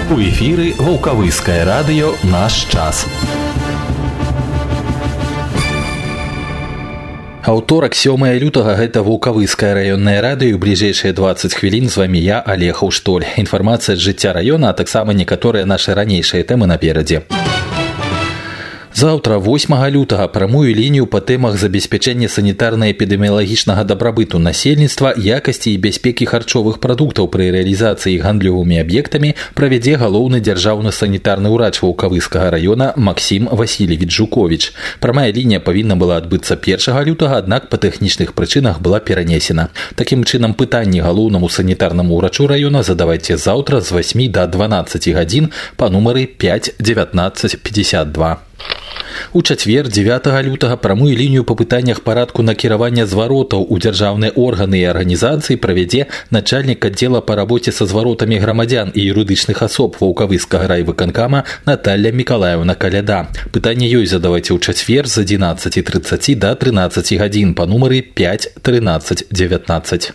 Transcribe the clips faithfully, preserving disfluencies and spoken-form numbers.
У эфіры Ваўкавыскае радыё «Наш час». Аўторак, сёмае лютага, гэта Ваўкавыскае раённае радыё. Бліжэйшыя дваццаць хвілін з вамі я, Олег Аўштоль. Інфармацыя з жыцця раёна, а таксама некаторыя нашы ранейшыя тэмы наперадзе. Заўтра, восьмага лютага, прамую лінію па тэмах забеспячэння санітарна-эпідэміялагічнага дабрабыту насельніцтва, якасці і бяспекі харчовых прадуктаў пры рэалізацыі гандлёвымі аб'ектамі правядзе галоўны дзяржаўны санітарны ўрач Ваўкавыскага раёна Максім Васильевич Жукович. Прамая лінія павінна была адбыцца першага лютага, аднак па тэхнічных прычынах была перанесена. Такім чынам, пытанні галоўнаму санітарнаму ўрачу раёна задавайце заўтра з васьмі да дванаццаці гадзін па нумары пяць дзевятнаццаць пятьдесят два. У чацвер, дзевятага лютага, прамую лінію па пытаннях парадку накіравання зваротаў у дзяржаўныя органы і арганізацыі правядзе начальнік аддзела па рабоце са зваротамі грамадзян і юрыдычных асоб Ваўкавыскага райвыканкама Наталья Миколаевна Каляда. Пытанне ёй задавайце ў чацвер з адзінаццаці трыццаці да трынаццаці гадзін па нумары пяць трынаццаць дзевятнаццаць.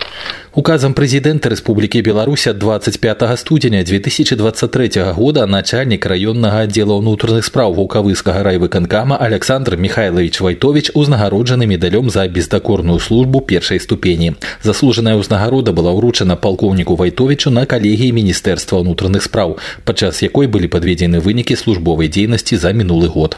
Указом президента Республики Беларусь от двадцать пятого студеня две тысячи двадцать третьего года начальник районного отдела внутренних справ Ваўкавыскага райвыканкама Александр Михайлович Вайтович узнагароджаны медалем за бездокорную службу першей ступени. Заслуженная узнагарода была вручена полковнику Вайтовичу на коллегии Министерства внутренних справ, падчас якой были подведены вынікі службовой деятельности за минулый год.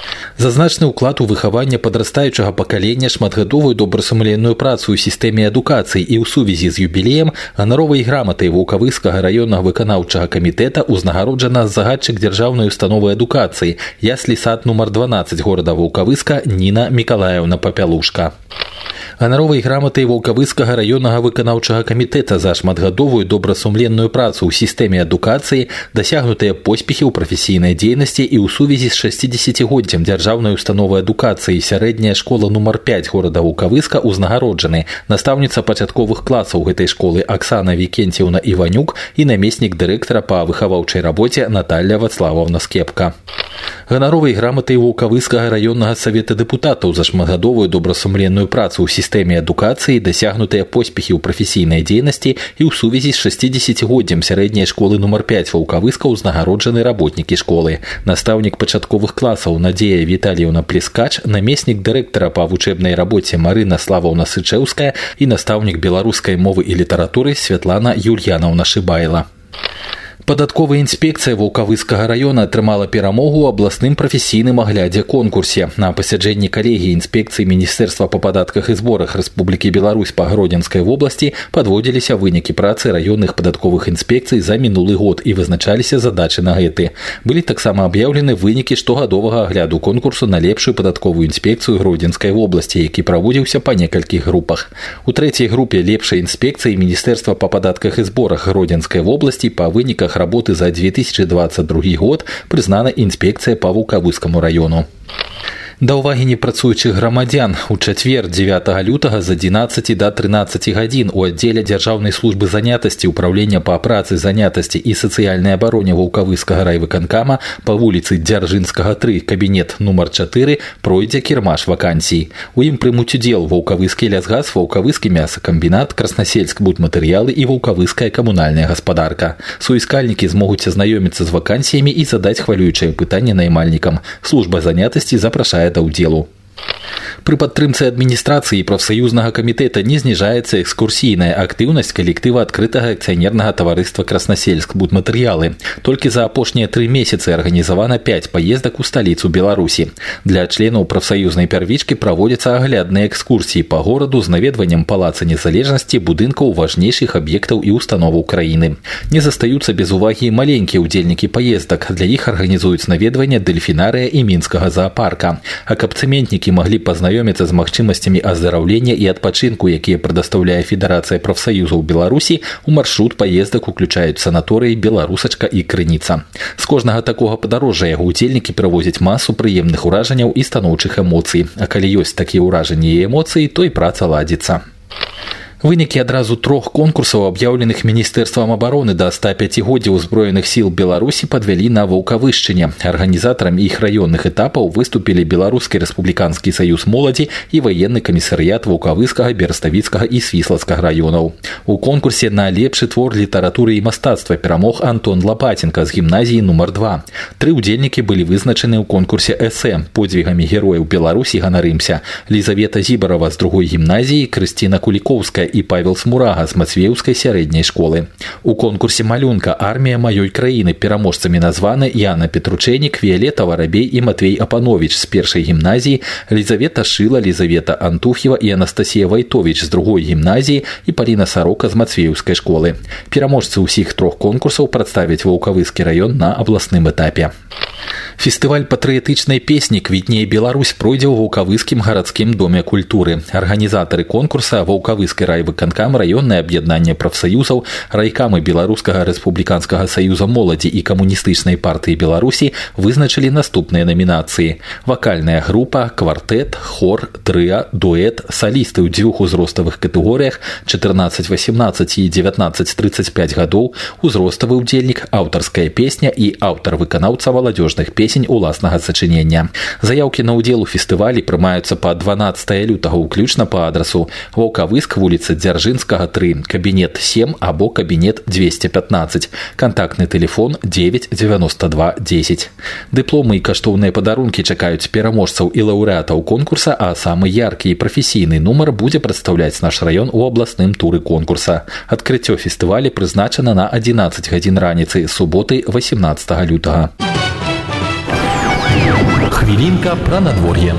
За значны ўклад у выхаванне падрастаючага пакалення, шматгадовую добрасумленную працу ў сістэме адукацыі і ў сувязі з юбілеем ганаровай граматай Ваўкавыскага раённага выканаўчага камітэта узнагароджана загадчык дзяржаўнай установы адукацыі яслі сад нумар дванаццаць горада Ваўкавыска Ніна Миколаевна Папялушка. Ганаровай граматай Ваўкавыскага раённага выканаўчага камітэта за шматгадовую добрасумленную працу ў сістэме адукацыі, дасягнутыя поспехі ў прафесійнай дзейнасці і ў сувязі з шасцідзесяцігоддзям дзяржаўнай установы адукацыі сярэдняя школа нумар пяць горада Ваўкавыска узнагароджаны настаўніца пачатковых класаў гэтай школы Аксана Викентьевна Иванюк і намеснік дырэктара па выхаваўчай рабоце Наталья Вацлавовна Скепка. Ганаровай граматай Ваўкавыскага раённага савета дэпутатаў за шматгадовую добрасумленную працу ў сістэме адукацыі, дасягнутыя поспехі ў прафесійнай дзейнасці і ў сувязі з шасцідзесяцігоддзям сярэдняй школы нумар пяць Ваўкавыска узнагароджаны работнікі школы. Настаўнік пачатковых класаў Надзея Віталіевна Плескач, намеснік дырэктара па вучэбнай рабоце Марына Славовна Сычэўская і настаўнік беларускай мовы і літаратуры Святлана Юльянаўна Шыбайла. Падатковая інспекцыя Ваўкавыскага раёна атрымала перамогу ў абласным прафесійным аглядзе конкурсе. На пасяджэнні калегіі інспекцыі Міністэрства па падатках і зборах Рэспублікі Беларусь па Гродзенскай вобласці падводзіліся вынікі працы раённых падатковых інспекцый за мінулы год і вызначаліся задачы на гэты. Былі таксама аб'яўлены вынікі штогадовага агляду конкурсу на лепшую падатковую інспекцыю Гродзенскай вобласці, які праводзіўся па некалькіх групах. У трэцяй групе лепшай інспекцыі Міністэрства па падатках і зборах Гродзенскай вобласці па выніках работы за две тысячи двадцать другой год прызнана інспекцыя па Ваўкавыскаму раёну. Да ўвагі непрацуючых грамадзян у чацвер дзевятага лютага з адзінаццаці да трынаццаці гадзін у аддзеле дзяржаўнай службы занятасці ўправлення па працы, занятасці і сацыяльнай абароне Ваўкавыскага райвыканкама па вуліцы Дзяржынскага тры, кабінет нумар чатыры, пройдзе кірмаш вакансій. У ім прымуць удзел Ваўкавыскі лясгас, Ваўкавыскі мясакамбінат, Краснасельск будматэрыялы і Ваўкавыская камунальная гаспадарка. Суіскальнікі змогуць азнаёміцца з вакансіямі і задаць хвалюючае пытанне наймальнікам. Служба занятасці запрашае да ўдзелу. Пры падтрымцы адміністрацыі прафсаюзнага камітэта не зніжаецца экскурсійная актыўнасць калектыва адкрытага акцыянернага таварыства Краснасельск будматэрыялы. Толькі за апошнія тры месяцы арганізавана пяць паездак у сталіцу Беларусі. Для членаў прафсаюзнай пярвічкі праводзяцца аглядныя экскурсіі па гораду з наведваннем палаца незалежнасці, будынкаў важнейшых аб'ектаў і установаў краіны. Не застаюцца без увагі маленькія ўдзельнікі паездак. Для іх арганізуюць наведванне дэльфінарыя і мінскага заапарка. А каб цэментнікі маглі пазнаёміцца з магчымасцямі аздараўлення і адпачынку, якія прадастаўляе Федэрацыя прафсаюзаў Беларусі, у маршрут паездак уключаюць санаторыі Беларусачка і Крыніца. З кожнага такога падарожжа яго удзельнікі правозяць масу прыемных уражанняў і станоўчых эмоцый. А калі ёсць такія ўражанні і эмоцыі, то і праца ладзіцца. Вынікі адразу трох конкурсаў, аб'яўленых Міністэрствам абароны да ста пяці годдзяў узброеных сіл Беларусі, падвялі на Ваўкавышчыне. Арганізатарамі іх раённых этапаў выступілі Беларускі рэспубліканскі саюз моладзі і ваенны камісарыят Ваўкавыскага, Бераставіцкага і Свіслацкага раёнаў. У конкурсе на лепшы твор літаратуры і мастацтва перамог Антон Лапатенко з гімназіі нумар два. Тры ўдзельнікі былі вызначаны ў конкурсе эсэ. Подзвігамі герояў Беларусі ганарымся. Лізавета Зібарова з другой гімназіі, Крысціна Кулікоўская і Павел Смурага з Мацвеўскай сярэдняй школы. У конкурсе малюнка «Армія маёй краіны» пераможцамі названы Яна Петручэнік, Віялета Варабей і Матвей Апанович з першай гімназіі, Лізавета Шыла, Лізавета Антуф'ева і Анастасія Вайтович з другой гімназіі і Паліна Сарока з Мацвеўскай школы. Пераможцы ўсіх трох конкурсаў прадставяць Ваўкавыскі раён на абласным этапе. Фестываль патрыятычнай песні «Квітнее Беларусь» пройдзе ў Ваўкавыскім гарадскім доме культуры. Арганізатары конкурса Ваўкавыскі райвыканкам, раённае аб'яднанне прафсаюзаў, райкамы Беларускага рэспубліканскага саюза моладзі і камуністычнай партыі Беларусі вызначылі наступныя намінацыі: вакальная група, квартэт, хор, трыа, дуэт, салісты ў дзвюх узроставых катэгорыях чатырнаццаць васемнаццаць і дзевятнаццаць трыццаць пяць гадоў, узроставы ўдзельнік, аўтарская песня і аўтар-выканаўца маладзёжных песень уласнага сачынення. Заяўкі на ўдзел у фестывалі прымаюцца па дванаццатае лютага ўключна па адрасу Ваўкавыск, вуліца Дзяржынскага, тры, кабінет сем або кабінет дзвесце пятнаццаць. Кантактны тэлефон дзевяць дзевяноста два дзесяць. Дыпломы і каштоўныя падарункі чакаюць пераможцаў і лаўрэатаў конкурса, а самы яркі і прафесійны нумар будзе прадстаўляць наш раён у абласным туры конкурса. Адкрыццё фестываля прызначана на адзінаццаць гадзін раніцы суботы васемнаццатага лютага. Хвілінка пра надвор'е.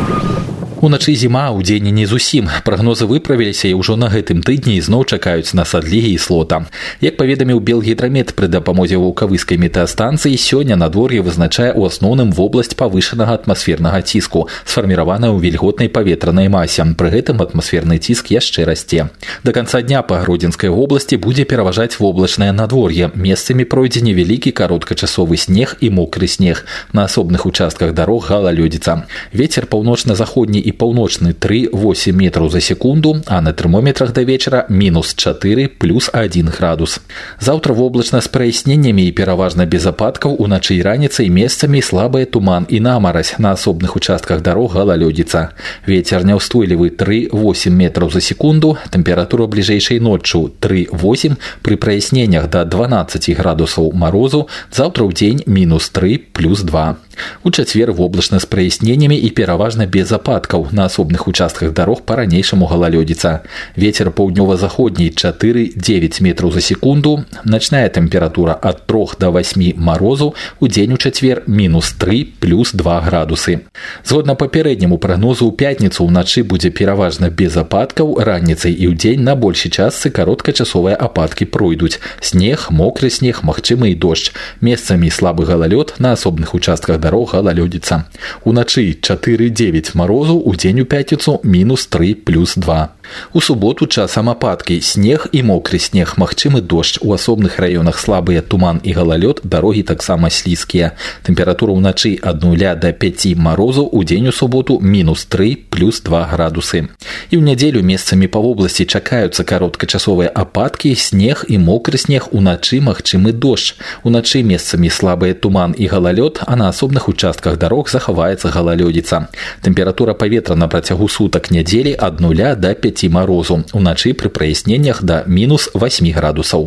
Уначы зіма, у дзень не зусім. Прагнозы выправіліся і ўжо на гэтым тыдні ізноў чакаюць нас адлігі і слота. Як паведаміў Белгідрамет пры дапамозе Ваўкавыскай метэастанцыі, сёння надвор'е вызначае ў асноўным вобласць павышанага атмасфернага ціску, сфарміраваная ў вільготнай паветранай масе. Пры гэтым атмасферны ціск яшчэ расце. Да канца дня па Гродзенскай вобласці будзе пераважаць воблачнае надвор'е. Месцамі пройдзе невялікі кароткачасовы снег і мокры снег. На асобных участках дарог галалёдзіца. Вецер паўночна-заходні і паўночны тры восемь метраў за секунду, а на тэрмометрах да вечара мінус чатыры плюс адзін градус. Заўтра воблачна з праясненнямі і пераважна без ападкаў, уначы і раніцай месцамі слабыя туман і намаразь, на асобных участках дарог галалёдзіца. Вецер няўстойлівы тры восемь метраў за секунду, тэмпература бліжэйшай ноччу тры восемь, пры праясненнях да дванаццаці градусаў марозу, заўтра ў дзень мінус тры плюс два. У чацвер воблачна з праясненнямі і пераважна без ападкаў, на асобных участках дарог па-ранейшаму галалёдзіца. Вецер паўднёва-заходні чатыры дзевяць метраў за секунду, начная тэмпература ад трох да васьмі марозу, у дзень у чацвер мінус тры плюс два градусы. Згодна папярэдняму прагнозу, у пятніцу ўначы будзе пераважна без ападкаў, раніцай і ўдзень на большай частцы кароткачасовыя ападкі пройдуць. Снег, мокры снег, магчымы і дождж. Месцамі слабы галалёд, на асобных участках дарог галалёдзіца. Уначы чатыры дзевяць марозу, у дзень у пятніцу мінус тры плюс два. У суботу часам ападкі, снег і мокры снег, магчымы дождж. У асобных раёнах слабыя туман і галалёд, дарогі таксама слізкія. Тэмпература ўначы ад нуля да пяці марозу, у дзень у суботу мінус тры плюс два градусы. І ў нядзелю месцамі па вобласці чакаюцца кароткачасовыя ападкі, снег і мокры снег, уначы магчымы дождж. Уначы месцамі слабыя туман і галалёд, а на асобных участках дарог захаваецца галалёдзіца. Тэмпература паветра на працягу сутак нядзелі ад нуля да пяці марозу, уначы пры праясненнях да мінус васьмі градусаў.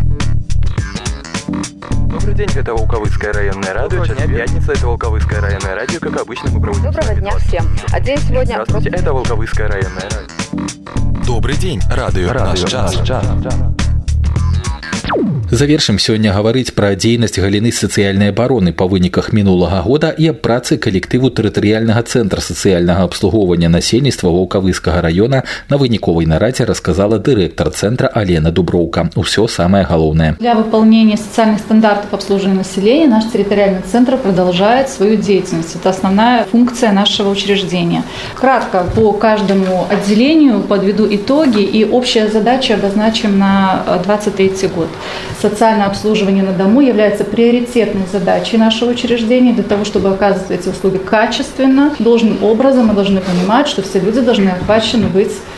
Добрый день, это Волковыцкое районное радио. Сейчас пятница, это Волковыцкое районное радио. Как обычно, мы проводим... Доброго дня всем. А день сегодня... Здравствуйте, это Волковыцкое районное радио. Добрый день, радио, радио наш час. час. Завершым сёння гаварыць пра дзейнасць галіны сацыяльнай абароны па выніках мінулага года і аб працы калектыву тэрытарыяльнага цэнтра сацыяльнага абслугоўвання насельніцтва Ваўкавыскага раёна на выніковай нарадзе расказала дырэктар цэнтра Алена Дуброўка. Усё самое галоўнае. Для выполнения социальных стандартов обслуживания населения наш территориальный центр продолжает свою деятельность. Это основная функция нашего учреждения. Кратко по каждому отделению подведу итоги и общая задача обозначим на двадцать третий год. Социальное обслуживание на дому является приоритетной задачей нашего учреждения. Для того, чтобы оказывать эти услуги качественно, должным образом мы должны понимать, что все люди должны охвачены быть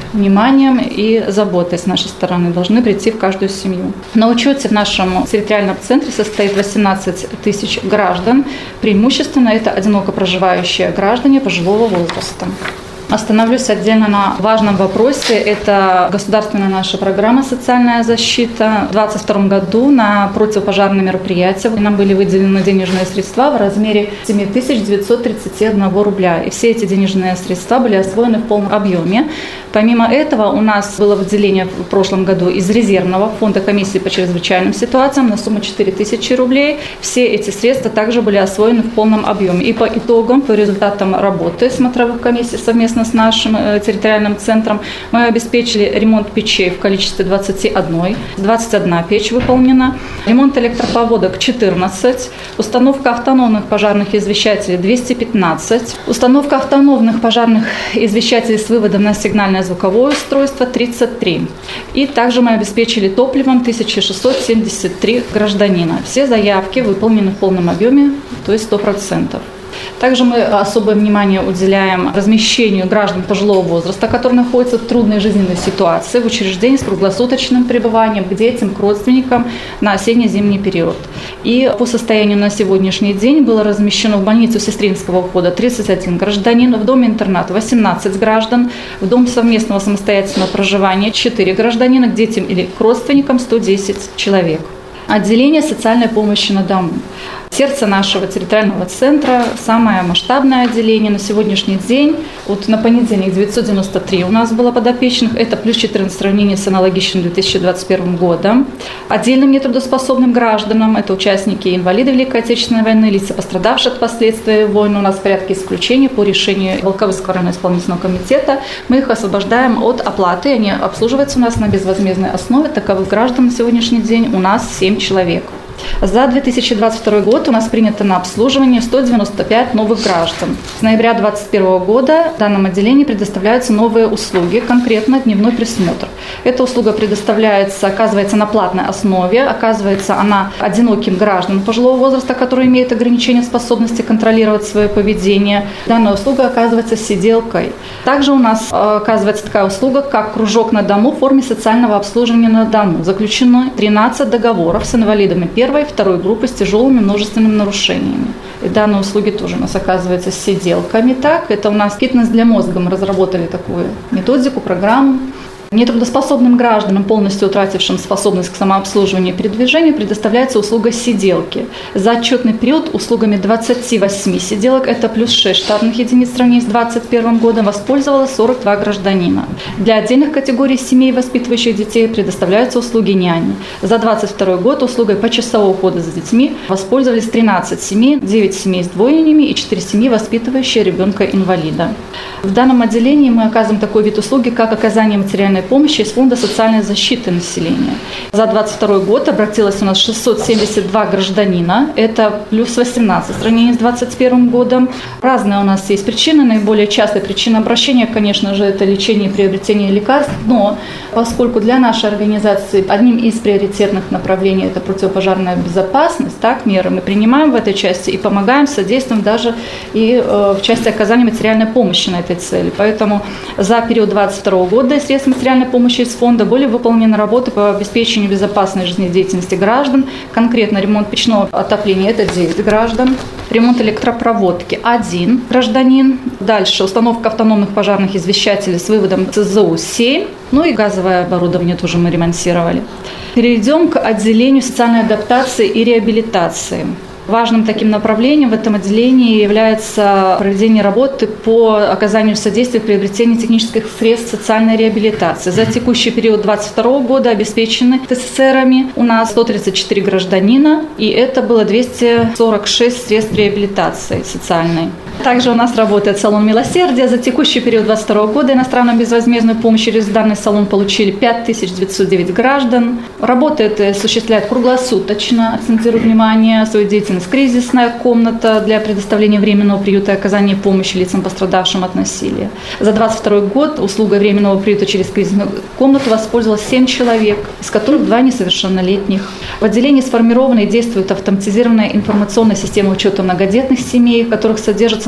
вниманием и заботой с нашей стороны должны прийти в каждую семью. На учете в нашем территориальном центре состоит восемнадцать тысяч граждан. Преимущественно это одиноко проживающие граждане пожилого возраста. Остановлюсь отдельно на важном вопросе. Это государственная наша программа «Социальная защита». В две тысячи двадцать втором году на противопожарные мероприятия нам были выделены денежные средства в размере семь тысяч девятьсот тридцать один рубля. И все эти денежные средства были освоены в полном объеме. Помимо этого у нас было выделение в прошлом году из резервного фонда комиссии по чрезвычайным ситуациям на сумму четыре тысячи рублей. Все эти средства также были освоены в полном объеме. И по итогам, по результатам работы смотровых комиссий совместно с нашим территориальным центром мы обеспечили ремонт печей в количестве двадцать один, двадцать одна печь выполнена, ремонт электропроводок четырнадцать, установка автономных пожарных извещателей двести пятнадцать, установка автономных пожарных извещателей с выводом на сигнальное звуковое устройство тридцать три. И также мы обеспечили топливом тысяча шестьсот семьдесят три гражданина. Все заявки выполнены в полном объеме, то есть сто процентов. Также мы особое внимание уделяем размещению граждан пожилого возраста, которые находятся в трудной жизненной ситуации в учреждении с круглосуточным пребыванием к детям, к родственникам на осенне-зимний период. И по состоянию на сегодняшний день было размещено в больницу сестринского ухода тридцать один гражданин, в доме-интернат восемнадцать граждан, в дом совместного самостоятельного проживания четыре гражданина, к детям или к родственникам сто десять человек. Отделение социальной помощи на дому. Сердце нашего территориального центра, самое масштабное отделение на сегодняшний день. Вот на понедельник девятьсот девяносто три у нас было подопечных, это плюс четырнадцать в сравнении с аналогичным две тысячи двадцать первым годом. Отдельным нетрудоспособным гражданам, это участники инвалиды Великой Отечественной войны, лица, пострадавшие от последствий войны, у нас в порядке исключения по решению Волковыского районного исполнительного комитета. Мы их освобождаем от оплаты, они обслуживаются у нас на безвозмездной основе. Таковых граждан на сегодняшний день у нас семь человек. За две тысячи двадцать второй год у нас принято на обслуживание сто девяносто пять новых граждан. С ноября две тысячи двадцать первого года в данном отделении предоставляются новые услуги, конкретно дневной присмотр. Эта услуга предоставляется, оказывается на платной основе, оказывается она одиноким гражданам пожилого возраста, которые имеют ограничения способности контролировать свое поведение. Данная услуга оказывается сиделкой. Также у нас оказывается такая услуга, как кружок на дому в форме социального обслуживания на дому. Заключено тринадцать договоров с инвалидами первой и второй группы с тяжелыми множественными нарушениями. И данные услуги тоже у нас оказываются с сиделками. Так, это у нас фитнес для мозга. Мы разработали такую методику, программу. Нетрудоспособным гражданам, полностью утратившим способность к самообслуживанию и передвижению, предоставляется услуга сиделки. За отчетный период услугами двадцати восьми сиделок, это плюс шесть штатных единиц в сравнении с две тысячи двадцать первым годом, воспользовалось сорок два гражданина. Для отдельных категорий семей, воспитывающих детей, предоставляются услуги няни. За две тысячи двадцать второй год услугой почасового ухода за детьми воспользовались тринадцать семей, девять семей с двойнями и четыре семьи, воспитывающие ребенка-инвалида. В данном отделении мы оказываем такой вид услуги, как оказание материальной помощи из Фонда социальной защиты населения. За две тысячи двадцать второй год обратилось у нас шестьсот семьдесят два гражданина, это плюс восемнадцать в сравнении с две тысячи двадцать первым годом. Разные у нас есть причины, наиболее частая причина обращения, конечно же, это лечение и приобретение лекарств, но поскольку для нашей организации одним из приоритетных направлений это противопожарная безопасность, так, меры мы принимаем в этой части и помогаем, содействуем даже и э, в части оказания материальной помощи на этой цели. Поэтому за период две тысячи двадцать второго года из средств материальной помощи из фонда были выполнены работы по обеспечению безопасной жизнедеятельности граждан, конкретно ремонт печного отопления – это девять граждан, ремонт электропроводки – один гражданин, дальше установка автономных пожарных извещателей с выводом Ц З У семь, ну и газовое оборудование тоже мы ремонтировали. Перейдем к отделению социальной адаптации и реабилитации. Важным таким направлением в этом отделении является проведение работы по оказанию содействия в приобретении технических средств социальной реабилитации. За текущий период две тысячи двадцать второго года обеспечены Т С С Рами у нас сто тридцать четыре гражданина, и это было двести сорок шесть средств реабилитации социальной. Также у нас работает салон милосердия. За текущий период две тысячи двадцать второго года иностранную безвозмездную помощь через данный салон получили пять тысяч девятьсот девять граждан. Работает и осуществляет круглосуточно, акцентирую внимание, свою деятельность кризисная комната для предоставления временного приюта и оказания помощи лицам, пострадавшим от насилия. За две тысячи двадцать второй год услугой временного приюта через кризисную комнату воспользовалось семь человек, из которых два несовершеннолетних. В отделении сформирована и действует автоматизированная информационная система учета многодетных семей, в которых содержатся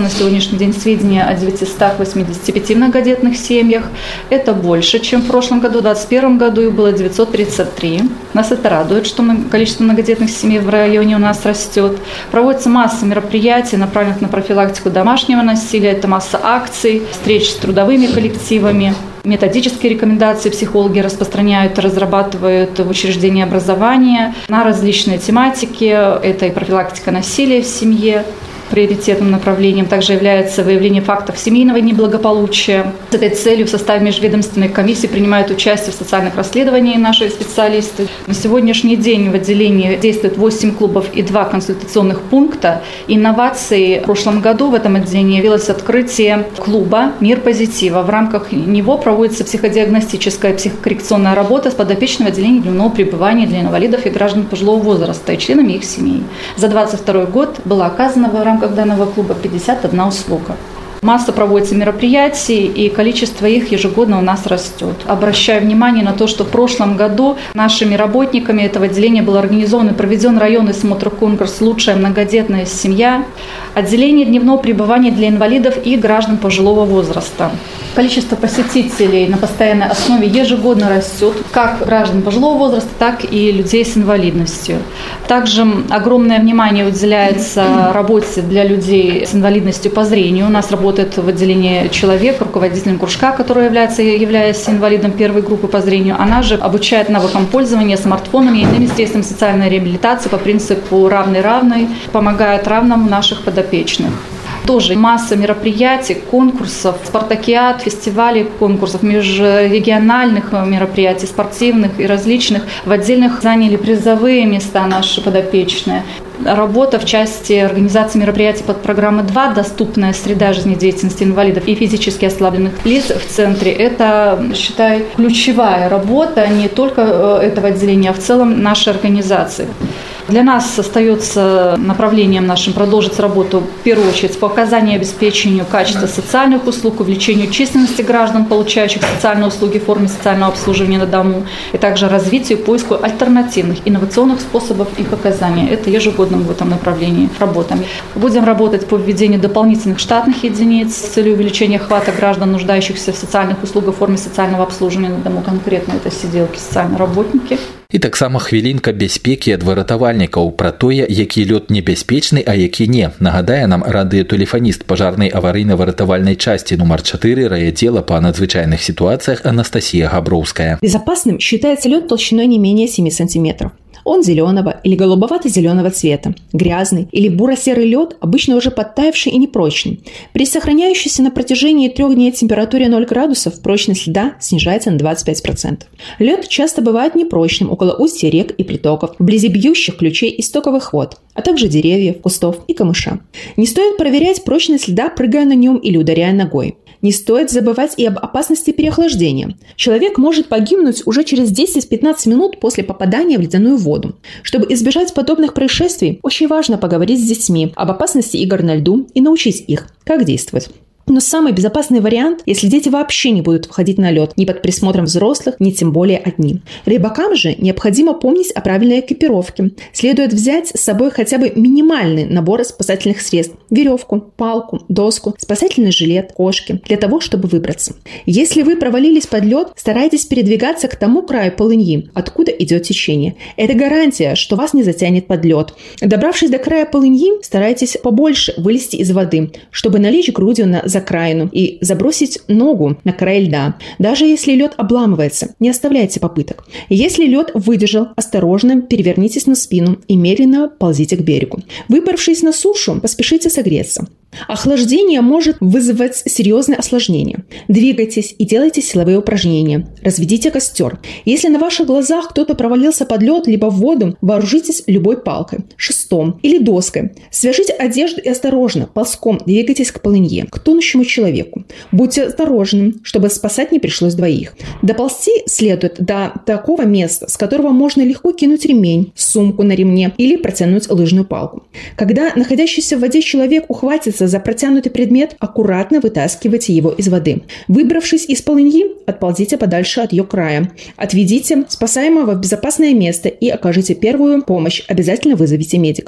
имеются на сегодняшний день сведения о девятистах восьмидесяти пяти многодетных семьях. Это больше, чем в прошлом году. В две тысячи двадцать первом году их было девятьсот тридцать три. Нас это радует, что количество многодетных семей в районе у нас растет. Проводится масса мероприятий, направленных на профилактику домашнего насилия. Это масса акций, встреч с трудовыми коллективами. Методические рекомендации психологи распространяют, разрабатывают в учреждении образования на различные тематики. Это и профилактика насилия в семье. Приоритетным направлением также является выявление фактов семейного неблагополучия. С этой целью в составе межведомственной комиссии принимают участие в социальных расследованиях наши специалисты. На сегодняшний день в отделении действует восемь клубов и два консультационных пункта. Инновацией в прошлом году в этом отделении явилось открытие клуба «Мир позитива». В рамках него проводится психодиагностическая психокоррекционная работа с подопечным в отделении дневного пребывания для инвалидов и граждан пожилого возраста и членами их семей. За двадцать второй год было оказано в рамках данного клуба пятьдесят одна услуга. Масса проводится мероприятий, и количество их ежегодно у нас растет. Обращаю внимание на то, что в прошлом году нашими работниками этого отделения был организован и проведен районный смотр-конкурс «Лучшая многодетная семья», отделение дневного пребывания для инвалидов и граждан пожилого возраста. Количество посетителей на постоянной основе ежегодно растет, как граждан пожилого возраста, так и людей с инвалидностью. Также огромное внимание уделяется работе для людей с инвалидностью по зрению. У нас работает в отделении человек, руководителем кружка, который является, являясь инвалидом первой группы по зрению. Она же обучает навыкам пользования смартфонами и иными средствами социальной реабилитации по принципу равный-равный, помогает равному наших подопечных. Тоже масса мероприятий, конкурсов, спартакиад, фестивалей, конкурсов, межрегиональных мероприятий, спортивных и различных. В отдельных заняли призовые места наши подопечные. Работа в части организации мероприятий под программой два «Доступная среда жизнедеятельности инвалидов и физически ослабленных лиц» в центре. Это, считаю, ключевая работа не только этого отделения, а в целом нашей организации. Для нас остается направлением нашим продолжить работу в первую очередь по оказанию и обеспечению качества социальных услуг, увеличению численности граждан, получающих социальные услуги в форме социального обслуживания на дому, и также развитию и поиску альтернативных инновационных способов их оказания. Это ежегодно в этом направлении работаем. Будем работать по введению дополнительных штатных единиц с целью увеличения охвата граждан, нуждающихся в социальных услугах в форме социального обслуживания на дому. Конкретно это сиделки, социальные работники. І таксама хвілінка бяспекі ад выратавальнікаў пра тое, які лёд небяспечны, а які не. Нагадае нам радыётэлефаніст пажарнай аварыйна-выратавальнай часці нумар четыре райотдела по надзвычайных ситуациях Анастасия Габровская. Безопасным считается лед толщиной не менее семи сантиметров. Он зеленого или голубовато-зеленого цвета, грязный или буро-серый лед, обычно уже подтаявший и непрочный. При сохраняющейся на протяжении трех дней температуре ноль градусов прочность льда снижается на двадцать пять процентов. Лед часто бывает непрочным около устья рек и притоков, вблизи бьющих ключей и стоковых вод, а также деревьев, кустов и камыша. Не стоит проверять прочность льда, прыгая на нем или ударяя ногой. Не стоит забывать и об опасности переохлаждения. Человек может погибнуть уже через десять-пятнадцать минут после попадания в ледяную воду. Чтобы избежать подобных происшествий, очень важно поговорить с детьми об опасности игр на льду и научить их, как действовать. Но самый безопасный вариант, если дети вообще не будут выходить на лед ни под присмотром взрослых, ни тем более одни. Рыбакам же необходимо помнить о правильной экипировке. Следует взять с собой хотя бы минимальный набор спасательных средств – веревку, палку, доску, спасательный жилет, кошки – для того, чтобы выбраться. Если вы провалились под лед, старайтесь передвигаться к тому краю полыньи, откуда идет течение. Это гарантия, что вас не затянет под лед. Добравшись до края полыньи, старайтесь побольше вылезти из воды, чтобы налечь грудью на закраину и забросить ногу на край льда. Даже если лед обламывается, не оставляйте попыток. Если лед выдержал, осторожно перевернитесь на спину и медленно ползите к берегу. Выбравшись на сушу, поспешите согреться. Охлаждение может вызывать серьезные осложнения. Двигайтесь и делайте силовые упражнения. Разведите костер. Если на ваших глазах кто-то провалился под лед либо в воду, вооружитесь любой палкой, шестом или доской. Свяжите одежду и осторожно, ползком двигайтесь к полынье, к тонущему человеку. Будьте осторожны, чтобы спасать не пришлось двоих. Доползти следует до такого места, с которого можно легко кинуть ремень, сумку на ремне или протянуть лыжную палку. Когда находящийся в воде человек ухватится за протянутый предмет, аккуратно вытаскивайте его из воды. Выбравшись из полыньи, отползите подальше от ее края. Отведите спасаемого в безопасное место и окажите первую помощь. Обязательно вызовите медиков.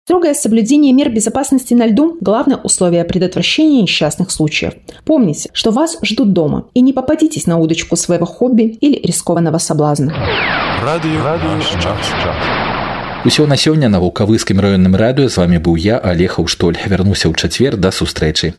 Строгое соблюдение мер безопасности на льду – главное условие предотвращения несчастных случаев. Помните, что вас ждут дома, и не попадитесь на удочку своего хобби или рискованного соблазна. Радыё наш час. Усё на сёння на Вулкавыскім раённым радыё з вами быў я, Олег Аўштоль. Вярнуся ў чацвер, да сустрэчы.